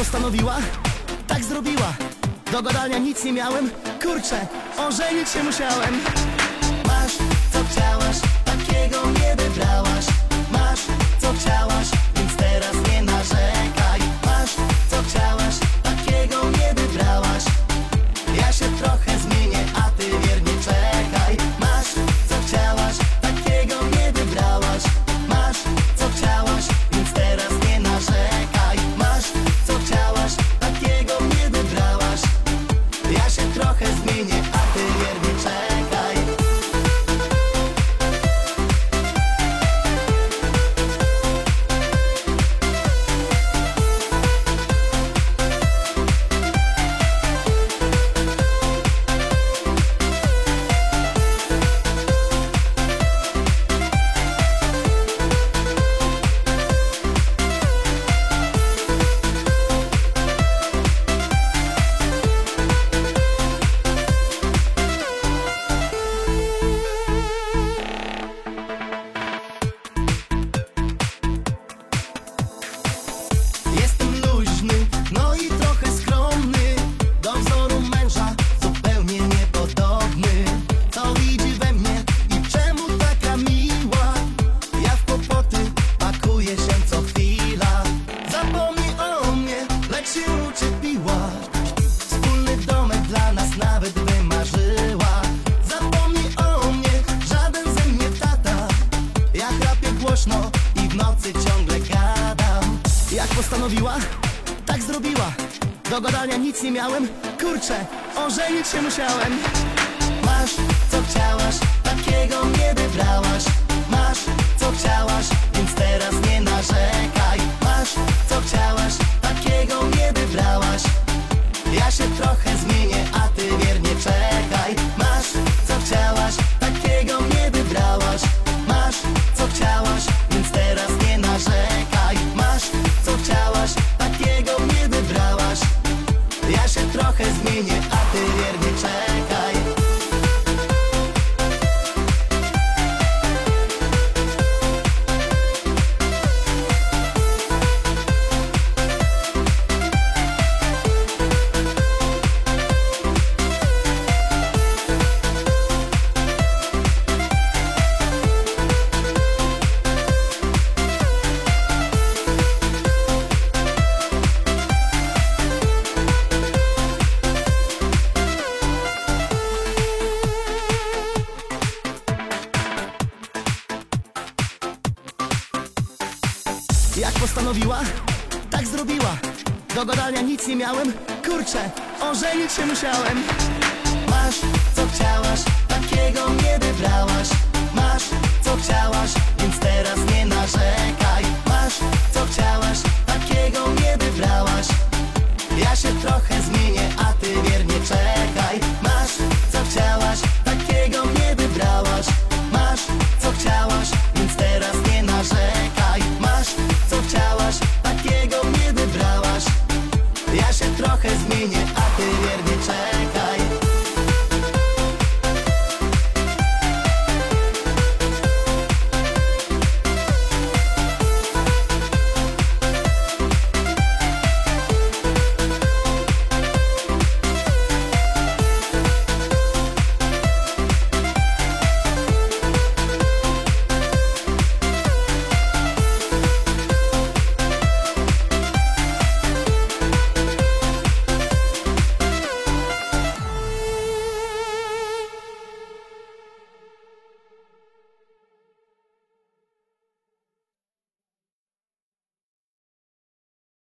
postanowiła, tak zrobiła. Do gadania nic nie miałem, kurczę, ożenić się musiałem. Masz co chciałaś, takiego nie wybrałaś. Masz co chciałaś, więc teraz nie narzekaj. Masz co chciałaś, takiego nie wybrałaś. Ja się trochę zmienię, a ty wiernie czekaj. Masz co chciałaś, takiego nie wybrałaś. Masz co chciałaś, więc teraz nie narzekaj. Masz co chciałaś, takiego nie wybrałaś. Ja się trochę zmienię, a ty wiernie czekaj. Wspólny domek dla nas nawet wymarzyła. Zapomnij o mnie, żaden ze mnie tata. Ja chrapię głośno i w nocy ciągle gadam. Jak postanowiła, tak zrobiła. Do gadania nic nie miałem, kurczę, ożenić się musiałem. Masz co chciałaś, takiego nie wybrałaś. Masz co chciałaś, więc teraz nie narzekaj. Masz co chciałaś, takiego nie wybrałaś. Ja się trochę zmienię, a ty wiernie czekaj. Masz co chciałaś, takiego nie wybrałaś. Masz co chciałaś, więc teraz nie narzekaj. Masz co chciałaś, takiego nie wybrałaś. Ja się trochę zmienię, a ty wiernie czekaj. Jak postanowiła, tak zrobiła. Do gadania nic nie miałem, kurczę, ożenić się musiałem.